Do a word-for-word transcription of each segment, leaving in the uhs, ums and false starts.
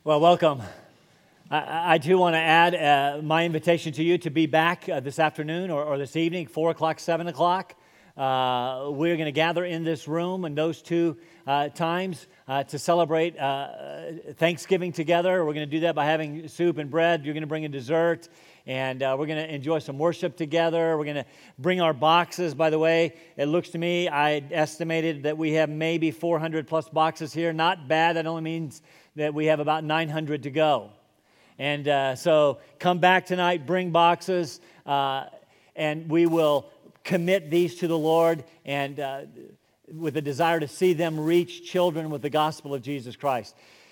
Well, welcome. I, I too want to add uh, my invitation to you to be back uh, this afternoon or, or this evening, four o'clock, seven o'clock. Uh, we're going to gather in this room in those two uh, times uh, to celebrate uh, Thanksgiving together. We're going to do that by having soup and bread. You're going to bring a dessert, and uh, we're going to enjoy some worship together. We're going to bring our boxes. By the way, it looks to me, I estimated that we have maybe four hundred plus boxes here. Not bad. That only means that we have about nine hundred to go. And uh, so come back tonight, bring boxes, uh, and we will commit these to the Lord and uh, with a desire to see them reach children with the gospel of Jesus Christ.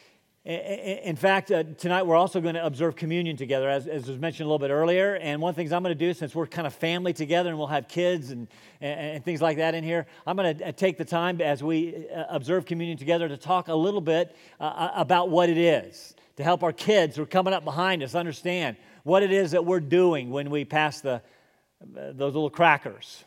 In fact, uh, tonight we're also going to observe communion together, as, as was mentioned a little bit earlier. And one of the things I'm going to do, since we're kind of family together and we'll have kids and, and, and things like that in here, I'm going to take the time as we uh, observe communion together to talk a little bit uh, about what it is, to help our kids who are coming up behind us understand what it is that we're doing when we pass the uh, those little crackers,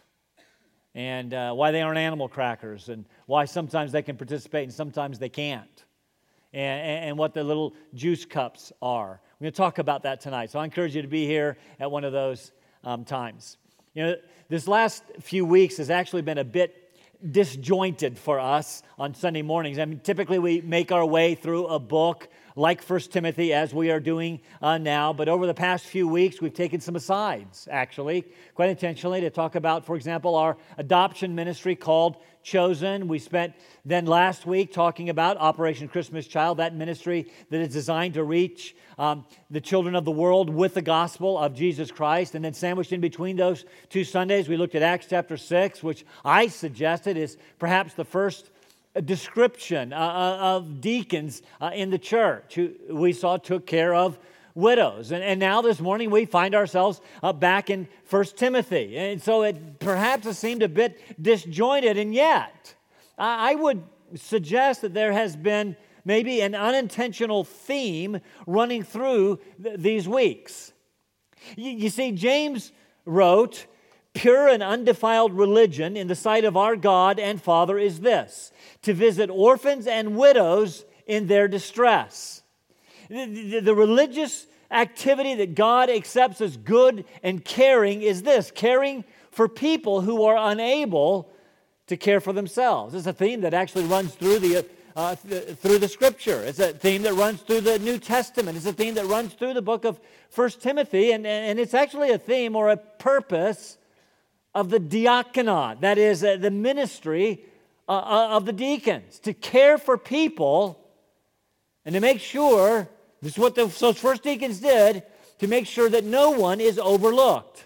and uh, why they aren't animal crackers, and why sometimes they can participate and sometimes they can't. And, and what the little juice cups are. We're going to talk about that tonight. So I encourage you to be here at one of those um, times. You know, this last few weeks has actually been a bit disjointed for us on Sunday mornings. I mean, typically we make our way through a book like First Timothy, as we are doing uh, now. But over the past few weeks, we've taken some asides, actually, quite intentionally, to talk about, for example, our adoption ministry called Chosen. We spent then last week talking about Operation Christmas Child, that ministry that is designed to reach um, the children of the world with the gospel of Jesus Christ. And then sandwiched in between those two Sundays, we looked at Acts chapter six, which I suggested is perhaps the first a description uh, of deacons uh, in the church who we saw took care of widows. And, and now this morning we find ourselves uh, back in First Timothy. And so it perhaps it seemed a bit disjointed, and yet I, I would suggest that there has been maybe an unintentional theme running through th- these weeks. You, you see, James wrote, "Pure and undefiled religion in the sight of our God and Father is this, to visit orphans and widows in their distress." The, the, the religious activity that God accepts as good and caring is this, caring for people who are unable to care for themselves. It's a theme that actually runs through the uh, th- through the Scripture. It's a theme that runs through the New Testament. It's a theme that runs through the book of First Timothy, and, and it's actually a theme or a purpose of the diaconate, that is, uh, the ministry uh, of the deacons, to care for people and to make sure, this is what the, those first deacons did, to make sure that no one is overlooked.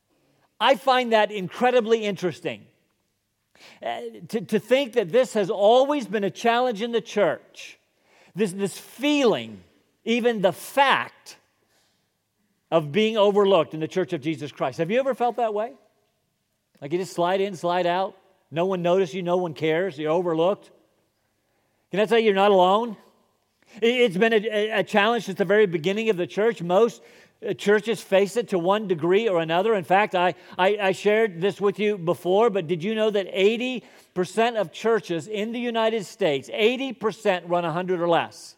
I find that incredibly interesting. Uh, to, to think that this has always been a challenge in the church, this, this feeling, even the fact of being overlooked in the Church of Jesus Christ. Have you ever felt that way? Like you just slide in, slide out. No one notices you. No one cares. You're overlooked. Can I tell you, you're not alone? It's been a, a challenge since the very beginning of the church. Most churches face it to one degree or another. In fact, I, I, I shared this with you before, but did you know that eighty percent of churches in the United States, eighty percent run one hundred or less?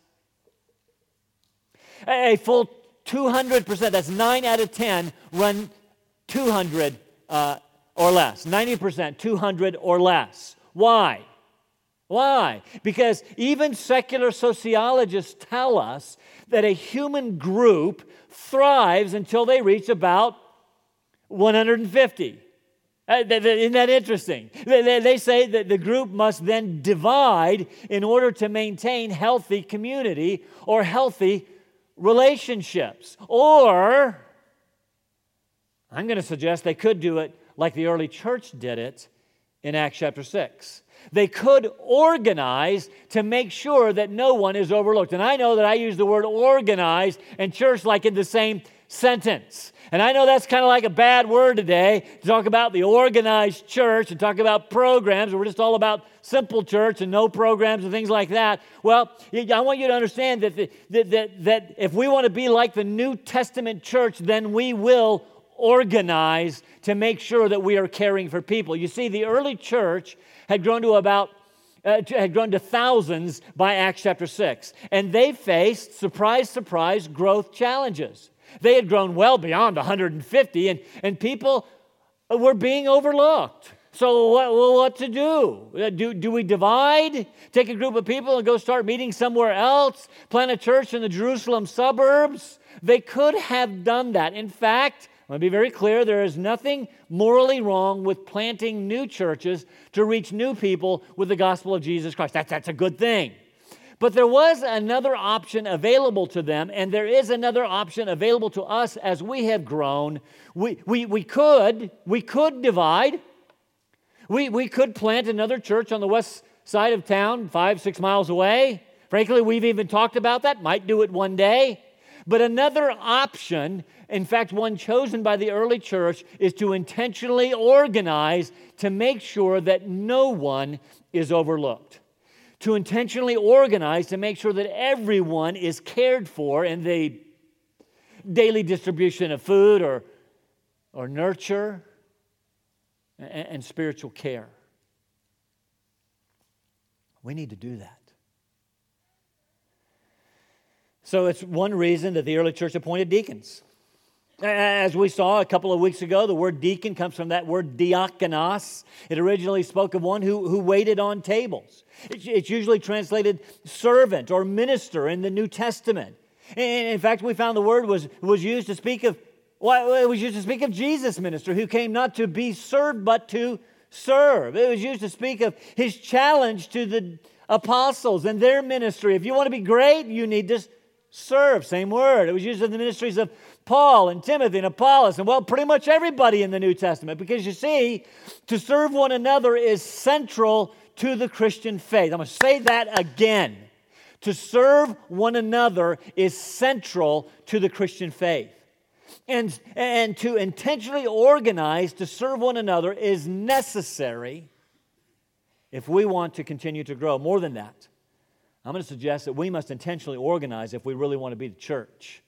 A full two hundred percent, that's nine out of ten, run two hundred uh or less. ninety percent, two hundred or less. Why? Why? Because even secular sociologists tell us that a human group thrives until they reach about one hundred fifty. Isn't that interesting? They say that the group must then divide in order to maintain healthy community or healthy relationships. Or, I'm going to suggest they could do it like the early church did it in Acts chapter six. They could organize to make sure that no one is overlooked. And I know that I use the word organize and church like in the same sentence. And I know that's kind of like a bad word today to talk about the organized church and talk about programs. We're just all about simple church and no programs and things like that. Well, I want you to understand that, the, that, that, that if we want to be like the New Testament church, then we will organize to make sure that we are caring for people. You see, the early church had grown to about uh, had grown to thousands by Acts chapter six. And they faced, surprise, surprise, growth challenges. They had grown well beyond one hundred fifty, and, and people were being overlooked. So what, well, what to do? do? Do we divide? Take a group of people and go start meeting somewhere else? Plant a church in the Jerusalem suburbs? They could have done that. In fact, I want to be very clear, there is nothing morally wrong with planting new churches to reach new people with the gospel of Jesus Christ. That's, that's a good thing. But there was another option available to them, and there is another option available to us as we have grown. We, we, we could, we could divide. We, we could plant another church on the west side of town, five, six miles away. Frankly, we've even talked about that. Might do it one day. But another option, in fact, one chosen by the early church, is to intentionally organize to make sure that no one is overlooked. To intentionally organize to make sure that everyone is cared for in the daily distribution of food or, or nurture and, and spiritual care. We need to do that. So it's one reason that the early church appointed deacons. As we saw a couple of weeks ago, the word deacon comes from that word diakonos. It originally spoke of one who, who waited on tables. It's usually translated servant or minister in the New Testament. In fact, we found the word was, was used to speak of, well, it was used to speak of Jesus' minister who came not to be served but to serve. It was used to speak of his challenge to the apostles and their ministry. If you want to be great, you need to serve. Same word. It was used in the ministries of Paul and Timothy and Apollos and, well, pretty much everybody in the New Testament. Because you see, to serve one another is central to the Christian faith. I'm going to say that again. To serve one another is central to the Christian faith. And, and to intentionally organize to serve one another is necessary if we want to continue to grow. More than that, I'm going to suggest that we must intentionally organize if we really want to be the church.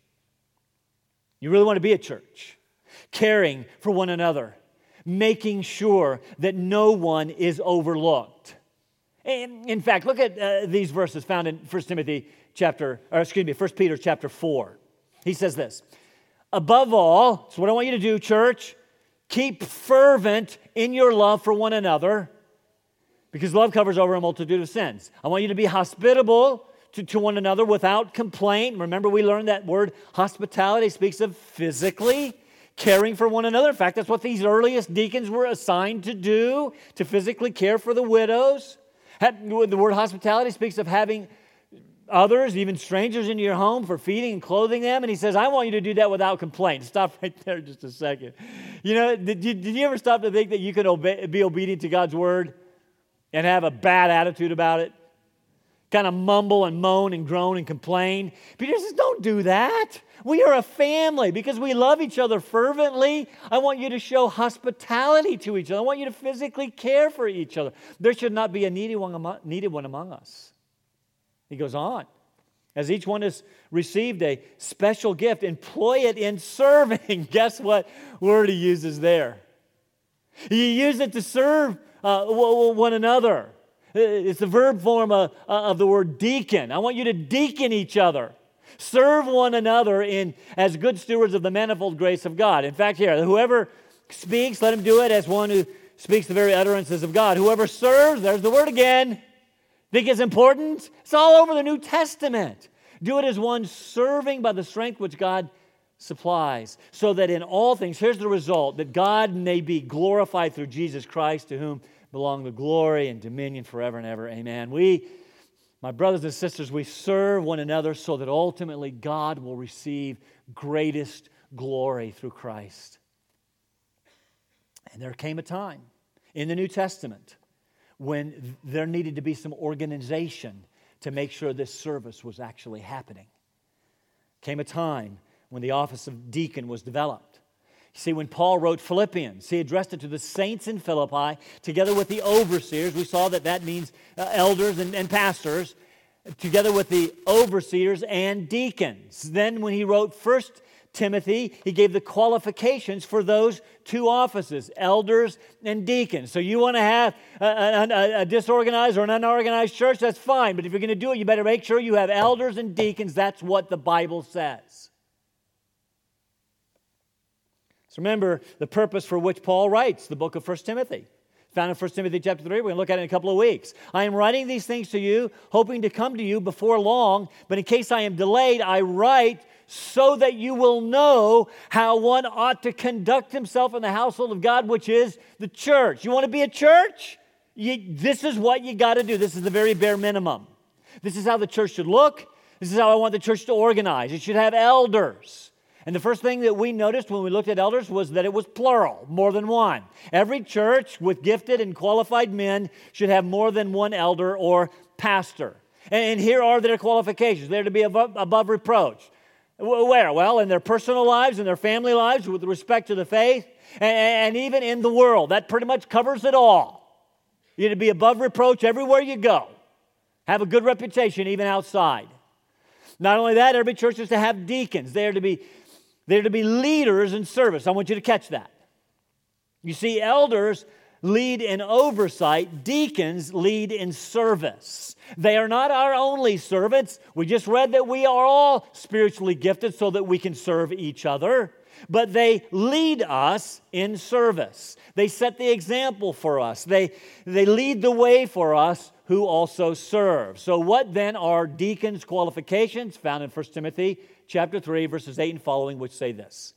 You really want to be a church, caring for one another, making sure that no one is overlooked. And in fact, look at uh, these verses found in First Timothy chapter, or excuse me, First Peter chapter four. He says this, above all, so what I want you to do, church, keep fervent in your love for one another, because love covers over a multitude of sins. I want you to be hospitable to, to one another without complaint. Remember, we learned that word hospitality speaks of physically caring for one another. In fact, that's what these earliest deacons were assigned to do, to physically care for the widows. The word hospitality speaks of having others, even strangers, into your home for feeding and clothing them. And he says, I want you to do that without complaint. Stop right there just a second. You know, did you, did you ever stop to think that you could obey, be obedient to God's word and have a bad attitude about it? Kind of mumble and moan and groan and complain. Peter says, don't do that. We are a family because we love each other fervently. I want you to show hospitality to each other. I want you to physically care for each other. There should not be a needy one among, needed one among us. He goes on. As each one has received a special gift, employ it in serving. Guess what word he uses there? He used it to serve uh, one another. It's the verb form of, of the word deacon. I want you to deacon each other. Serve one another in as good stewards of the manifold grace of God. In fact, here, whoever speaks, let him do it as one who speaks the very utterances of God. Whoever serves, there's the word again. Think it's important? It's all over the New Testament. Do it as one serving by the strength which God supplies, so that in all things, here's the result, that God may be glorified through Jesus Christ, to whom belong the glory and dominion forever and ever. Amen. We, my brothers and sisters, we serve one another so that ultimately God will receive greatest glory through Christ. And there came a time in the New Testament when there needed to be some organization to make sure this service was actually happening. Came a time when the office of deacon was developed. You see, when Paul wrote Philippians, he addressed it to the saints in Philippi together with the overseers. We saw that that means uh, elders and, and pastors, together with the overseers and deacons. Then when he wrote First Timothy, he gave the qualifications for those two offices, elders and deacons. So you want to have a, a, a disorganized or an unorganized church, that's fine. But if you're going to do it, you better make sure you have elders and deacons. That's what the Bible says. So remember the purpose for which Paul writes the book of First Timothy. Found in First Timothy chapter three. We're going to look at it in a couple of weeks. I am writing these things to you, hoping to come to you before long, but in case I am delayed, I write so that you will know how one ought to conduct himself in the household of God, which is the church. You want to be a church? You, this is what you got to do. This is the very bare minimum. This is how the church should look. This is how I want the church to organize. It should have elders. And the first thing that we noticed when we looked at elders was that it was plural, more than one. Every church with gifted and qualified men should have more than one elder or pastor. And here are their qualifications. They're to be above, above reproach. Where? Well, in their personal lives, in their family lives, with respect to the faith, and, and even in the world. That pretty much covers it all. You're to be above reproach everywhere you go. Have a good reputation even outside. Not only that, every church is to have deacons. They are to be, they're to be leaders in service. I want you to catch that. You see, elders lead in oversight. Deacons lead in service. They are not our only servants. We just read that we are all spiritually gifted so that we can serve each other. But they lead us in service. They set the example for us. They, they lead the way for us who also serve. So what then are deacons' qualifications? Found in First Timothy chapter three, verses eight and following, which say this.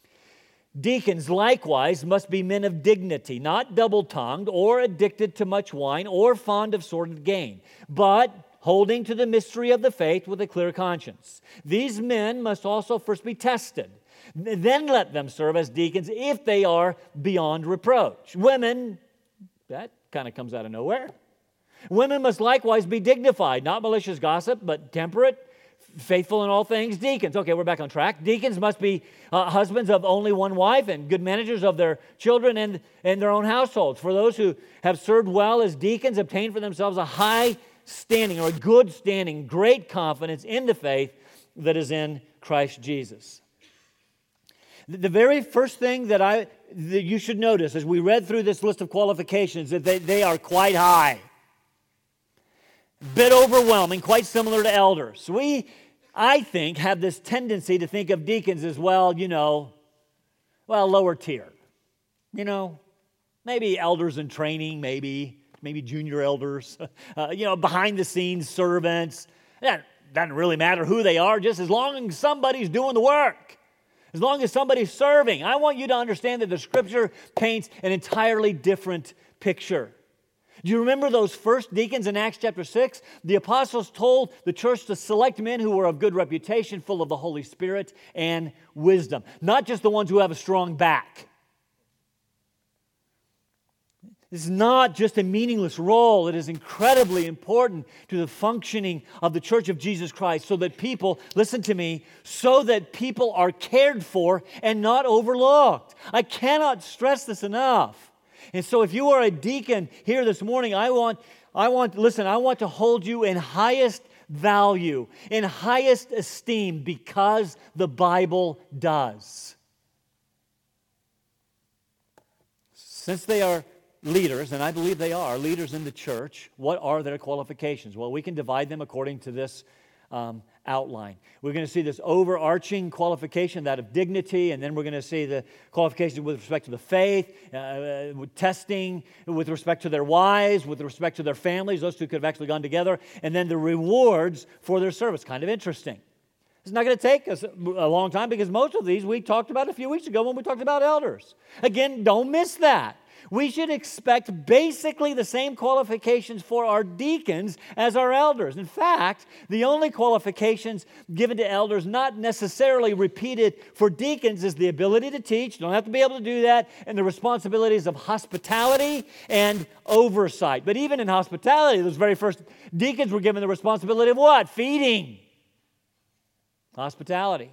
Deacons likewise must be men of dignity, not double-tongued or addicted to much wine or fond of sordid gain, but holding to the mystery of the faith with a clear conscience. These men must also first be tested. Then let them serve as deacons if they are beyond reproach. Women, that kind of comes out of nowhere. Women must likewise be dignified, not malicious gossip, but temperate, faithful in all things. Deacons, okay, we're back on track. Deacons must be uh, husbands of only one wife and good managers of their children and, and their own households. For those who have served well as deacons, obtain for themselves a high standing or a good standing, great confidence in the faith that is in Christ Jesus. The very first thing that I that you should notice as we read through this list of qualifications that they, they are quite high. Bit overwhelming, quite similar to elders. We, I think, have this tendency to think of deacons as, well, you know, well, lower tier. You know, maybe elders in training, maybe, maybe junior elders, uh, you know, behind the scenes servants. It doesn't really matter who they are, just as long as somebody's doing the work. As long as somebody's serving. I want you to understand that the Scripture paints an entirely different picture. Do you remember those first deacons in Acts chapter six? The apostles told the church to select men who were of good reputation, full of the Holy Spirit and wisdom. Not just the ones who have a strong back. This is not just a meaningless role. It is incredibly important to the functioning of the Church of Jesus Christ so that people, listen to me, so that people are cared for and not overlooked. I cannot stress this enough. And so if you are a deacon here this morning, I want, I want, listen, I want to hold you in highest value, in highest esteem, because the Bible does. Since they are leaders, and I believe they are leaders in the church, what are their qualifications? Well, we can divide them according to this um, outline. We're going to see this overarching qualification, that of dignity, and then we're going to see the qualifications with respect to the faith, uh, with testing, with respect to their wives, with respect to their families. Those two could have actually gone together. And then the rewards for their service. Kind of interesting. It's not going to take us a long time because most of these we talked about a few weeks ago when we talked about elders. Again, don't miss that. We should expect basically the same qualifications for our deacons as our elders. In fact, the only qualifications given to elders, not necessarily repeated for deacons, is the ability to teach. You don't have to be able to do that, and the responsibilities of hospitality and oversight. But even in hospitality, those very first deacons were given the responsibility of what? Feeding. Hospitality.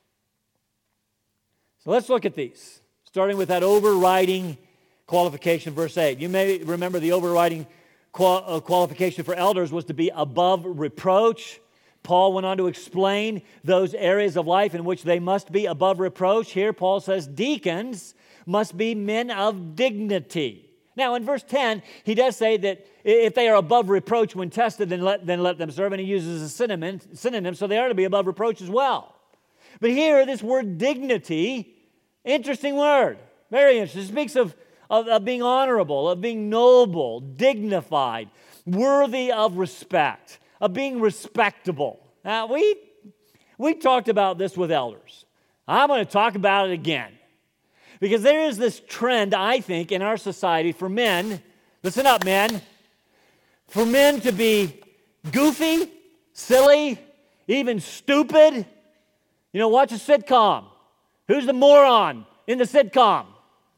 So let's look at these, starting with that overriding qualification, verse eight. You may remember the overriding qual- uh, qualification for elders was to be above reproach. Paul went on to explain those areas of life in which they must be above reproach. Here Paul says deacons must be men of dignity. Now in verse ten, he does say that if they are above reproach when tested, then let, then let them serve. And he uses a synonym, synonym, so they are to be above reproach as well. But here, this word dignity, interesting word, very interesting. It speaks of, of, of being honorable, of being noble, dignified, worthy of respect, of being respectable. Now, we, we talked about this with elders. I'm going to talk about it again. Because there is this trend, I think, in our society for men, listen up, men, for men to be goofy, silly, even stupid. You know, watch a sitcom. Who's the moron in the sitcom?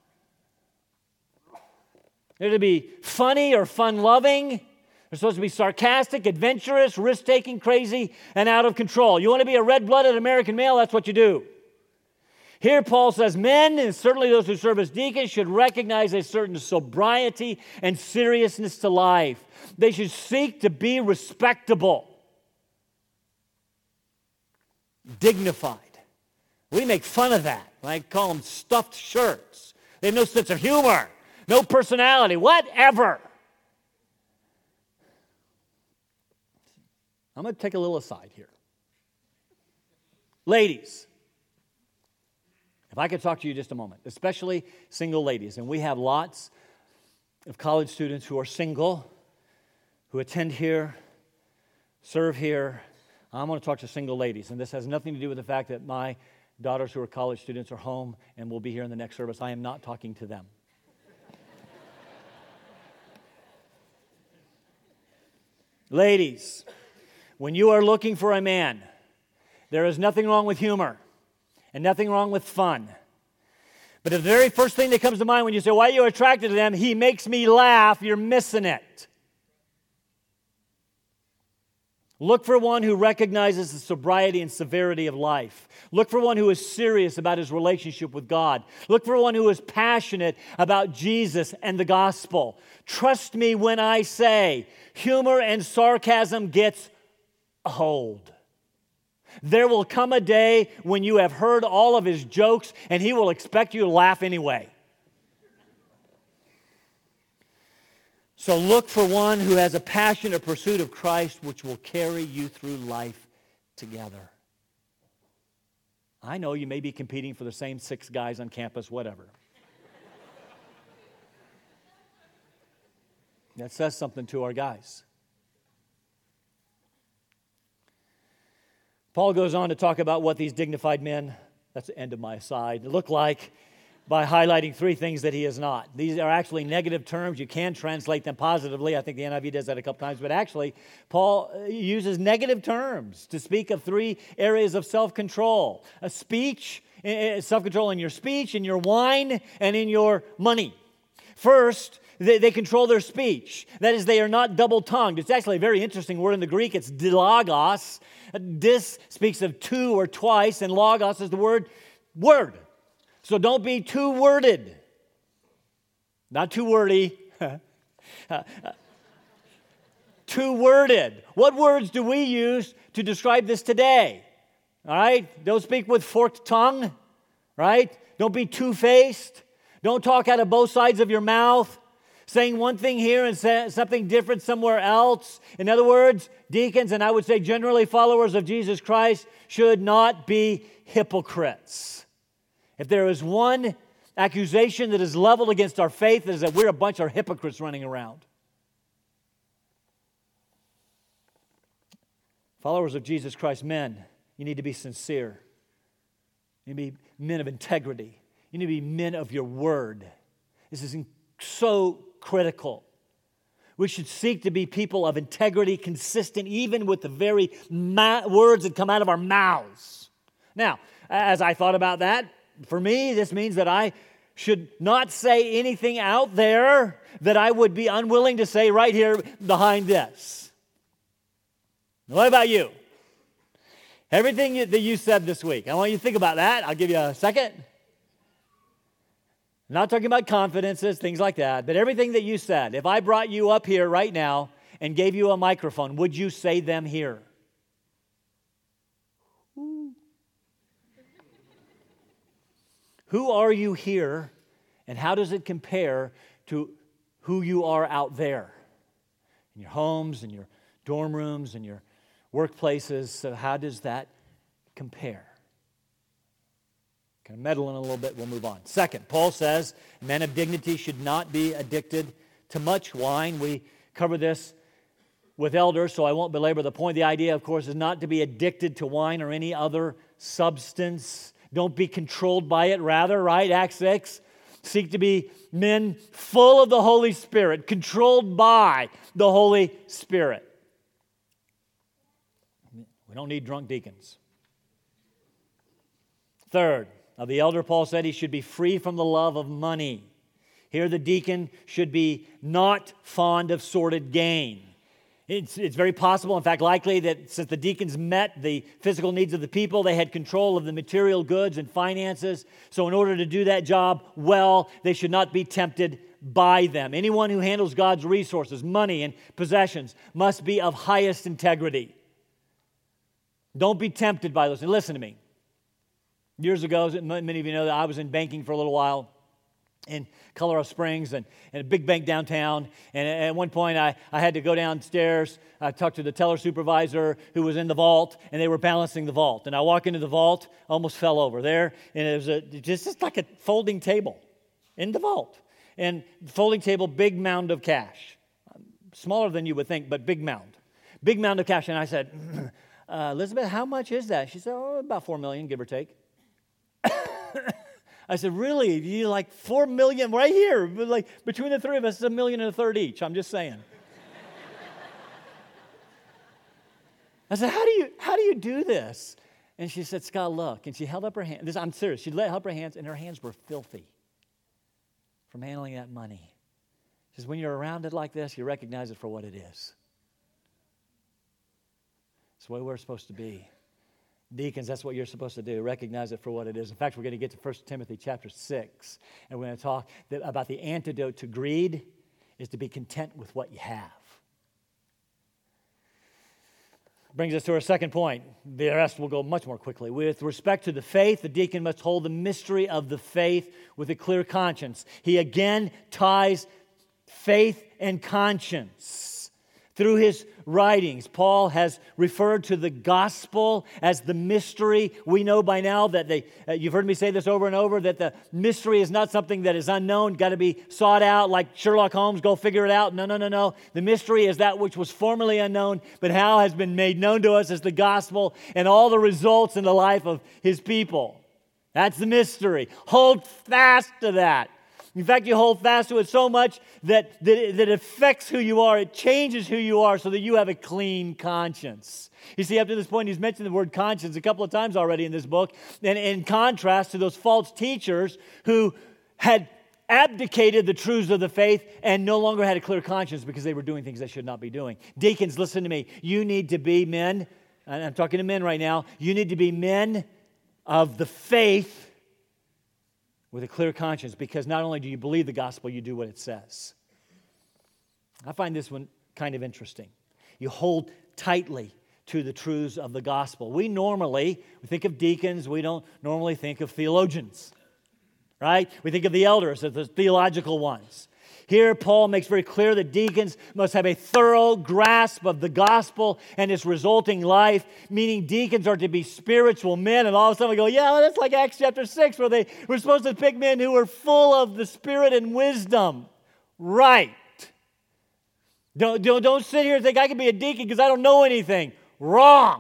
They're to be funny or fun-loving. They're supposed to be sarcastic, adventurous, risk-taking, crazy, and out of control. You want to be a red-blooded American male? That's what you do. Here Paul says men, and certainly those who serve as deacons, should recognize a certain sobriety and seriousness to life. They should seek to be respectable, dignified. We make fun of that. I call them stuffed shirts. They have no sense of humor, no personality, whatever. I'm going to take a little aside here. Ladies, if I could talk to you just a moment, especially single ladies, and we have lots of college students who are single, who attend here, serve here. I'm going to talk to single ladies, and this has nothing to do with the fact that my daughters who are college students are home and will be here in the next service. I am not talking to them. Ladies, when you are looking for a man, there is nothing wrong with humor and nothing wrong with fun. But the very first thing that comes to mind when you say, why are you attracted to them? He makes me laugh. You're missing it. Look for one who recognizes the sobriety and severity of life. Look for one who is serious about his relationship with God. Look for one who is passionate about Jesus and the gospel. Trust me when I say humor and sarcasm gets old. There will come a day when you have heard all of his jokes and he will expect you to laugh anyway. So look for one who has a passionate pursuit of Christ which will carry you through life together. I know you may be competing for the same six guys on campus, whatever. That says something to our guys. Paul goes on to talk about what these dignified men, that's the end of my aside, look like by highlighting three things that he is not. These are actually negative terms. You can translate them positively. I think the N I V does that a couple times. But actually, Paul uses negative terms to speak of three areas of self-control. A speech, self-control in your speech, in your wine, and in your money. First, they, they control their speech. That is, they are not double-tongued. It's actually a very interesting word in the Greek. It's dilagos. Dis speaks of two or twice, and logos is the word word. So don't be too worded. Not too wordy. Too worded. What words do we use to describe this today? All right? Don't speak with forked tongue. Right? Don't be two-faced. Don't talk out of both sides of your mouth, saying one thing here and say something different somewhere else. In other words, deacons, and I would say generally followers of Jesus Christ, should not be hypocrites. If there is one accusation that is leveled against our faith, it is that we're a bunch of hypocrites running around. Followers of Jesus Christ, men, you need to be sincere. You need to be men of integrity. You need to be men of your word. This is so critical. We should seek to be people of integrity, consistent even with the very ma- words that come out of our mouths. Now, as I thought about that, for me, this means that I should not say anything out there that I would be unwilling to say right here behind this. What about you? Everything that you said this week, I want you to think about that. I'll give you a second. I'm not talking about confidences, things like that, but everything that you said, if I brought you up here right now and gave you a microphone, would you say them here? Who are you here, and how does it compare to who you are out there? In your homes, in your dorm rooms, in your workplaces. So how does that compare? Kind of meddling a little bit, we'll move on. Second, Paul says men of dignity should not be addicted to much wine. We cover this with elders, so I won't belabor the point. The idea, of course, is not to be addicted to wine or any other substance. Don't be controlled by it. Rather, right, Acts six, seek to be men full of the Holy Spirit, controlled by the Holy Spirit. We don't need drunk deacons. Third, of the elder, Paul said he should be free from the love of money. Here the deacon should be not fond of sordid gain. It's, it's very possible, in fact likely, that since the deacons met the physical needs of the people, they had control of the material goods and finances. So in order to do that job well, they should not be tempted by them. Anyone who handles God's resources, money and possessions, must be of highest integrity. Don't be tempted by those. And listen to me. Years ago, many of you know that I was in banking for a little while in Colorado Springs and, and a big bank downtown. And at one point, I, I had to go downstairs, I talked to the teller supervisor who was in the vault, and they were balancing the vault. And I walk into the vault, almost fell over there, and it was a, just, just like a folding table in the vault. And folding table, big mound of cash. Smaller than you would think, but big mound. Big mound of cash. And I said, uh, Elizabeth, how much is that? She said, oh, about four million dollars, give or take. I said, really? You like four million right here? Like between the three of us, it's a million and a third each. I'm just saying. I said, how do you how do you do this? And she said, Scott, look. And she held up her hand. This, I'm serious. She held up her hands, and her hands were filthy from handling that money. She says, when you're around it like this, you recognize it for what it is. It's the way we're supposed to be. Deacons, that's what you're supposed to do. Recognize it for what it is. In fact, we're going to get to First Timothy chapter six, and we're going to talk about the antidote to greed is to be content with what you have. Brings us to our second point. The rest will go much more quickly. With respect to the faith, the deacon must hold the mystery of the faith with a clear conscience. He again ties faith and conscience. Through his writings, Paul has referred to the gospel as the mystery. We know by now that they, uh, you've heard me say this over and over, that the mystery is not something that is unknown, got to be sought out like Sherlock Holmes, go figure it out. No, no, no, no. The mystery is that which was formerly unknown, but now has been made known to us as the gospel and all the results in the life of his people. That's the mystery. Hold fast to that. In fact, you hold fast to it so much that, that, it, that it affects who you are. It changes who you are so that you have a clean conscience. You see, up to this point, he's mentioned the word conscience a couple of times already in this book. And in contrast to those false teachers who had abdicated the truths of the faith and no longer had a clear conscience because they were doing things they should not be doing. Deacons, listen to me. You need to be men, and I'm talking to men right now, you need to be men of the faith with a clear conscience, because not only do you believe the gospel, you do what it says. I find this one kind of interesting. You hold tightly to the truths of the gospel. We normally, we think of deacons, we don't normally think of theologians, right? We think of the elders as the theological ones. Here, Paul makes very clear that deacons must have a thorough grasp of the gospel and its resulting life, meaning deacons are to be spiritual men. And all of a sudden we go, yeah, well, that's like Acts chapter six, where they were supposed to pick men who were full of the Spirit and wisdom. Right. Don't, don't, don't sit here and think I can be a deacon because I don't know anything. Wrong.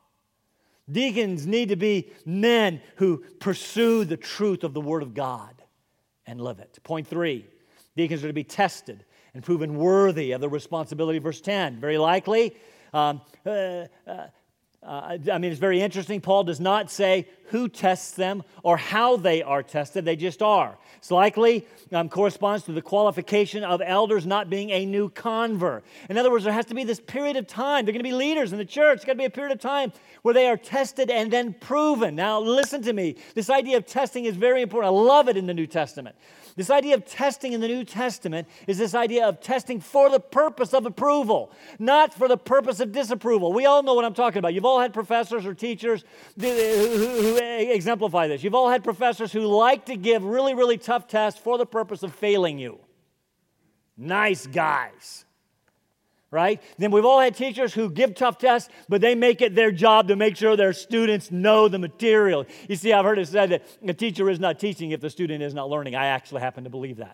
Deacons need to be men who pursue the truth of the Word of God and live it. Point three. Deacons are to be tested and proven worthy of the responsibility. Verse ten, very likely. Um, uh, uh, uh, I mean, it's very interesting. Paul does not say who tests them or how they are tested. They just are. It's likely um, corresponds to the qualification of elders not being a new convert. In other words, there has to be this period of time. They're going to be leaders in the church. It's got to be a period of time where they are tested and then proven. Now, listen to me. This idea of testing is very important. I love it in the New Testament. This idea of testing in the New Testament is this idea of testing for the purpose of approval, not for the purpose of disapproval. We all know what I'm talking about. You've all all had professors or teachers who, who, who exemplify this. You've all had professors who like to give really, really tough tests for the purpose of failing you. Nice guys. Right? Then we've all had teachers who give tough tests, but they make it their job to make sure their students know the material. You see, I've heard it said that a teacher is not teaching if the student is not learning. I actually happen to believe that.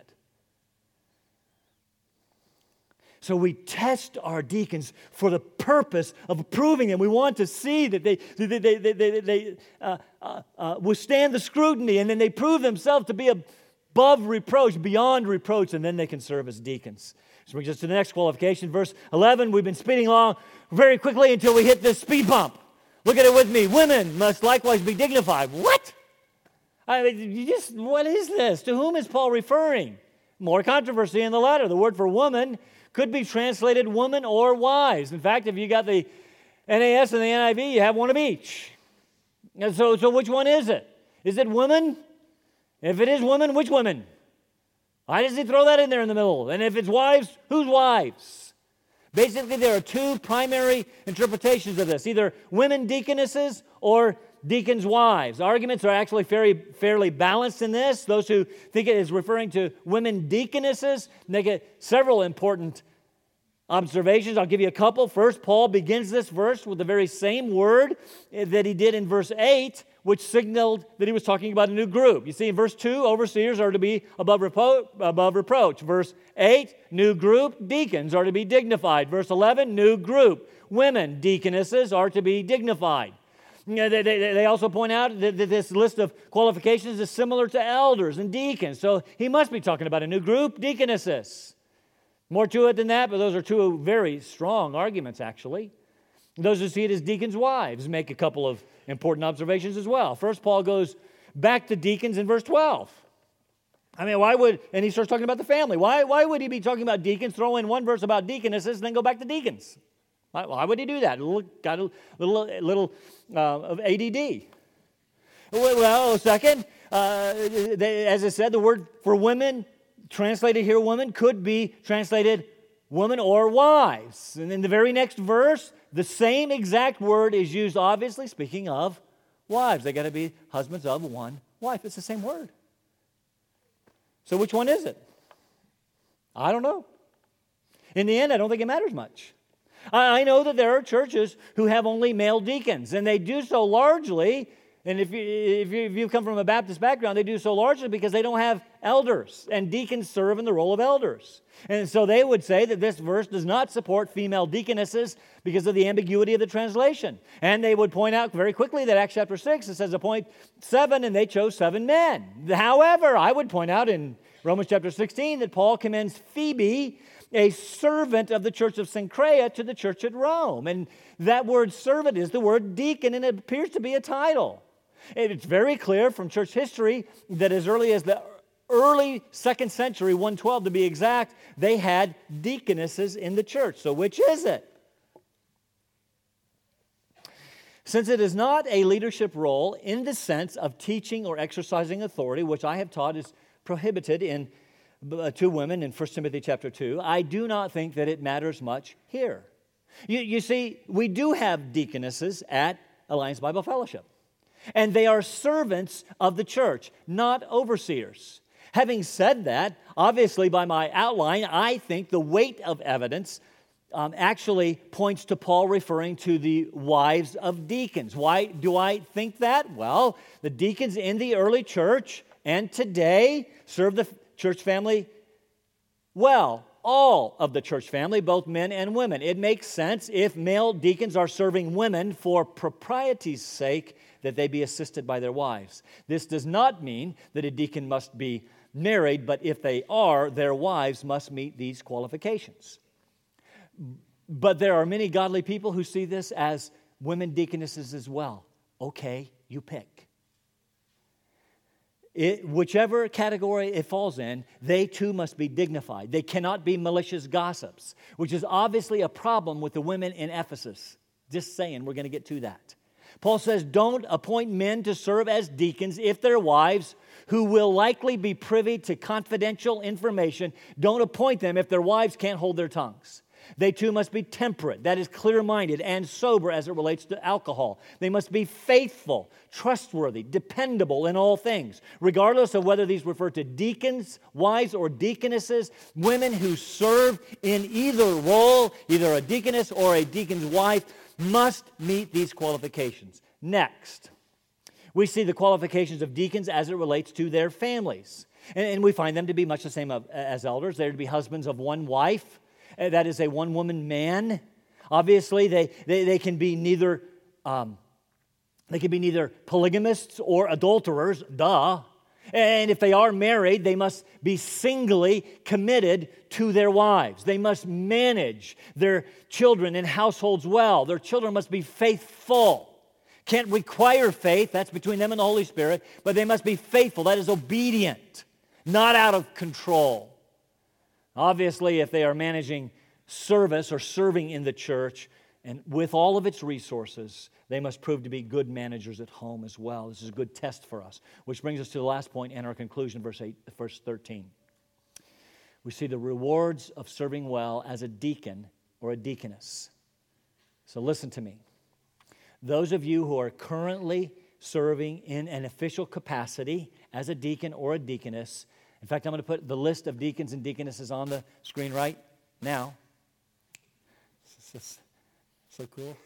So we test our deacons for the purpose of approving them. We want to see that they, they, they, they, they, they uh, uh, uh, withstand the scrutiny, and then they prove themselves to be above reproach, beyond reproach, and then they can serve as deacons. This brings us to the next qualification. Verse eleven, we've been speeding along very quickly until we hit this speed bump. Look at it with me. Women must likewise be dignified. What? I mean, you just, what is this? To whom is Paul referring? More controversy in the letter. The word for woman could be translated woman or wives. In fact, if you got the N A S and the N I V, you have one of each. And so, so which one is it? Is it women? If it is women, which women? Why does he throw that in there in the middle? And if it's wives, whose wives? Basically, there are two primary interpretations of this, either women deaconesses or deacons' wives. Arguments are actually fairly, fairly balanced in this. Those who think it is referring to women deaconesses make it several important observations. I'll give you a couple. First, Paul begins this verse with the very same word that he did in verse eight, which signaled that he was talking about a new group. You see, in verse two, overseers are to be above, repo- above reproach. Verse eight, new group, deacons are to be dignified. Verse eleven, new group, women, deaconesses are to be dignified. You know, they, they, they also point out that, that this list of qualifications is similar to elders and deacons. So he must be talking about a new group, deaconesses. More to it than that, but those are two very strong arguments, actually. Those who see it as deacons' wives make a couple of important observations as well. First, Paul goes back to deacons in verse twelve. I mean, why would, and he starts talking about the family. Why, why would he be talking about deacons, throw in one verse about deaconesses, and then go back to deacons? Why, why would he do that? Got a little, little uh, of A D D. Well, second, uh, they, as I said, the word for women, translated here woman, could be translated woman or wives. And in the very next verse, the same exact word is used, obviously, speaking of wives. They got to be husbands of one wife. It's the same word. So which one is it? I don't know. In the end, I don't think it matters much. I know that there are churches who have only male deacons, and they do so largely, and if you, if you, if you come from a Baptist background, they do so largely because they don't have elders, and deacons serve in the role of elders. And so they would say that this verse does not support female deaconesses because of the ambiguity of the translation. And they would point out very quickly that Acts chapter six, it says appoint seven, and they chose seven men. However, I would point out in Romans chapter sixteen that Paul commends Phoebe, a servant of the church of Cenchrea, to the church at Rome. And that word servant is the word deacon, and it appears to be a title. It's very clear from church history that as early as the early second century, one twelve to be exact, they had deaconesses in the church. So which is it? Since it is not a leadership role in the sense of teaching or exercising authority, which I have taught is prohibited in uh, to women in First Timothy chapter two, I do not think that it matters much here. You, you see, we do have deaconesses at Alliance Bible Fellowship, and they are servants of the church, not overseers. Having said that, obviously by my outline, I think the weight of evidence um, actually points to Paul referring to the wives of deacons. Why do I think that? Well, the deacons in the early church and today serve the church family well. All of the church family, both men and women. It makes sense if male deacons are serving women for propriety's sake that they be assisted by their wives. This does not mean that a deacon must be married, but if they are, their wives must meet these qualifications. But there are many godly people who see this as women deaconesses as well. Okay, you pick. It, whichever category it falls in, they too must be dignified. They cannot be malicious gossips, which is obviously a problem with the women in Ephesus. Just saying, we're going to get to that. Paul says, don't appoint men to serve as deacons if their wives, who will likely be privy to confidential information, don't appoint them if their wives can't hold their tongues. They too must be temperate, that is clear-minded and sober as it relates to alcohol. They must be faithful, trustworthy, dependable in all things. Regardless of whether these refer to deacons, wives, or deaconesses, women who serve in either role, either a deaconess or a deacon's wife, must meet these qualifications. Next, we see the qualifications of deacons as it relates to their families. And, and we find them to be much the same of, as elders. They're to be husbands of one wife. That is a one-woman man. Obviously, they, they, they can be neither um, they can be neither polygamists or adulterers, duh. And if they are married, they must be singly committed to their wives. They must manage their children and households well. Their children must be faithful. Can't require faith, that's between them and the Holy Spirit, but they must be faithful, that is obedient, not out of control. Obviously, if they are managing service or serving in the church, and with all of its resources, they must prove to be good managers at home as well. This is a good test for us. Which brings us to the last point and our conclusion, verse eight, verse thirteen. We see the rewards of serving well as a deacon or a deaconess. So listen to me. Those of you who are currently serving in an official capacity as a deacon or a deaconess, in fact, I'm going to put the list of deacons and deaconesses on the screen right now. This is so cool.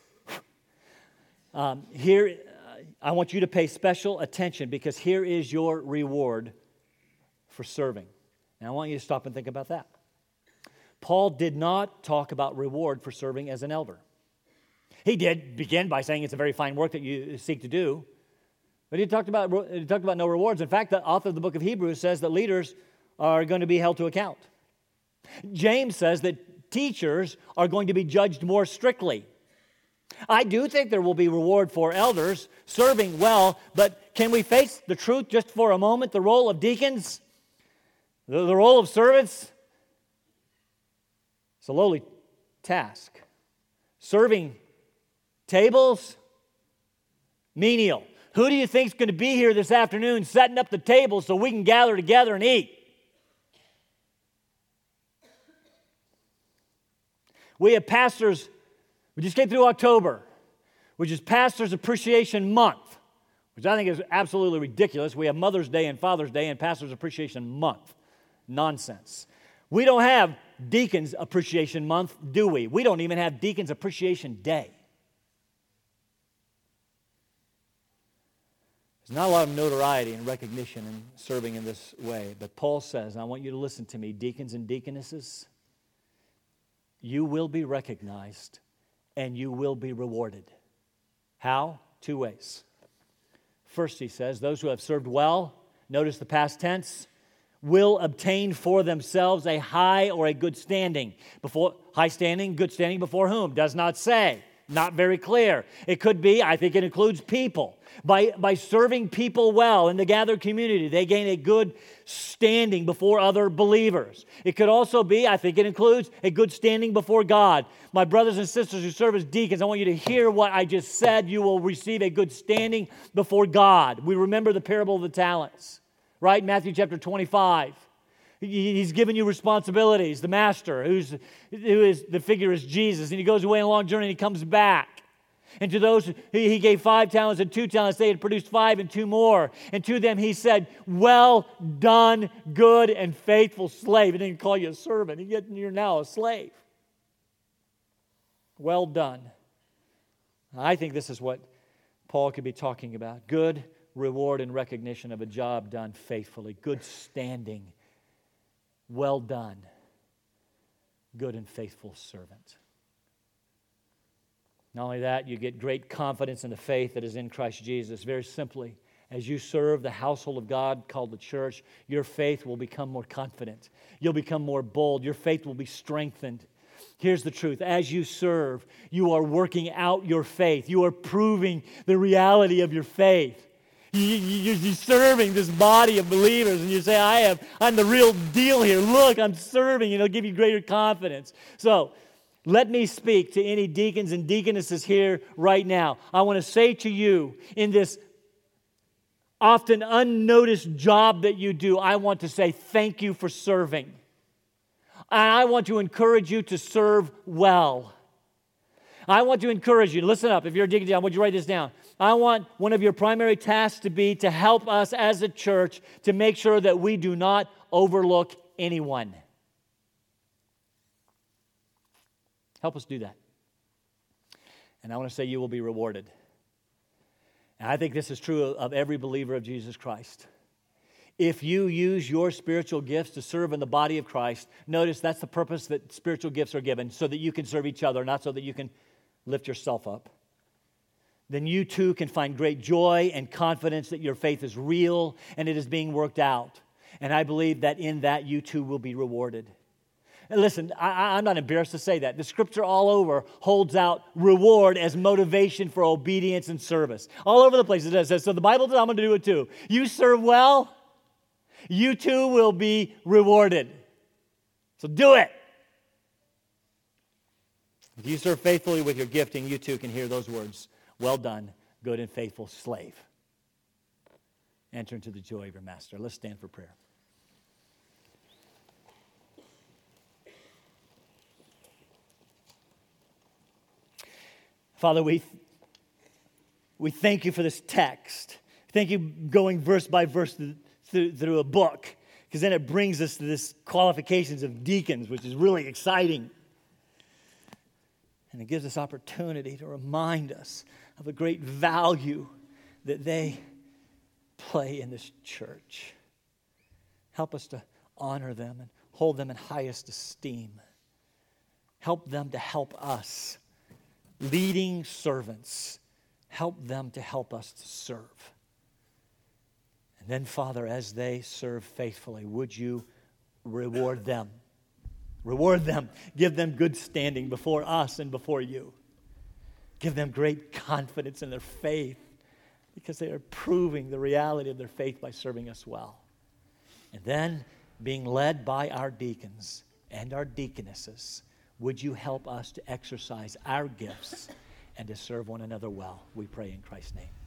Um, here, uh, I want you to pay special attention because here is your reward for serving. Now, I want you to stop and think about that. Paul did not talk about reward for serving as an elder. He did begin by saying it's a very fine work that you seek to do. But he talked about he talked about no rewards. In fact, the author of the book of Hebrews says that leaders are going to be held to account. James says that teachers are going to be judged more strictly. I do think there will be reward for elders serving well, but can we face the truth just for a moment? The role of deacons, the, the role of servants, it's a lowly task. Serving tables, menial. Who do you think is going to be here this afternoon setting up the table so we can gather together and eat? We have pastors, we just came through October, which is Pastors Appreciation Month, which I think is absolutely ridiculous. We have Mother's Day and Father's Day and Pastors Appreciation Month. Nonsense. We don't have Deacons Appreciation Month, do we? We don't even have Deacons Appreciation Day. There's not a lot of notoriety and recognition in serving in this way. But Paul says, and I want you to listen to me, deacons and deaconesses, you will be recognized and you will be rewarded. How? Two ways. First, he says, those who have served well, notice the past tense, will obtain for themselves a high or a good standing. Before high standing, good standing before whom? Does not say. Not very clear. It could be, I think it includes people. By, by serving people well in the gathered community, they gain a good standing before other believers. It could also be, I think it includes, a good standing before God. My brothers and sisters who serve as deacons, I want you to hear what I just said. You will receive a good standing before God. We remember the parable of the talents, right? Matthew chapter twenty-five. He's given you responsibilities. The master, who's, who is the figure is Jesus, and he goes away on a long journey and he comes back. And to those, he, he gave five talents and two talents. They had produced five and two more. And to them he said, well done, good and faithful slave. He didn't call you a servant. You're now a slave. Well done. I think this is what Paul could be talking about. Good reward and recognition of a job done faithfully. Good standing. Well done, good and faithful servant. Not only that, you get great confidence in the faith that is in Christ Jesus. Very simply, as you serve the household of God called the church, your faith will become more confident. You'll become more bold. Your faith will be strengthened. Here's the truth. As you serve, you are working out your faith. You are proving the reality of your faith. You're serving this body of believers, and you say, I have, I'm the real deal here. Look, I'm serving, and it'll give you greater confidence. So, let me speak to any deacons and deaconesses here right now. I want to say to you, in this often unnoticed job that you do, I want to say thank you for serving. And I want to encourage you to serve well. I want to encourage you, listen up, if you're a deacon, I want you to write this down. I want one of your primary tasks to be to help us as a church to make sure that we do not overlook anyone. Help us do that. And I want to say you will be rewarded. And I think this is true of every believer of Jesus Christ. If you use your spiritual gifts to serve in the body of Christ, notice that's the purpose that spiritual gifts are given, so that you can serve each other, not so that you can lift yourself up. Then you too can find great joy and confidence that your faith is real and it is being worked out. And I believe that in that you too will be rewarded. And listen, I, I'm not embarrassed to say that. The scripture all over holds out reward as motivation for obedience and service. All over the place it says, so the Bible says I'm going to do it too. You serve well, you too will be rewarded. So do it. If you serve faithfully with your gifting, you too can hear those words. Well done, good and faithful slave. Enter into the joy of your master. Let's stand for prayer. Father, we, we thank you for this text. Thank you going verse by verse through, through, through a book, because then it brings us to this qualifications of deacons, which is really exciting. And it gives us opportunity to remind us of the great value that they play in this church. Help us to honor them and hold them in highest esteem. Help them to help us. Leading servants, help them to help us to serve. And then, Father, as they serve faithfully, would you reward them? Reward them. Give them good standing before us and before you. Give them great confidence in their faith because they are proving the reality of their faith by serving us well. And then, being led by our deacons and our deaconesses, would you help us to exercise our gifts and to serve one another well? We pray in Christ's name.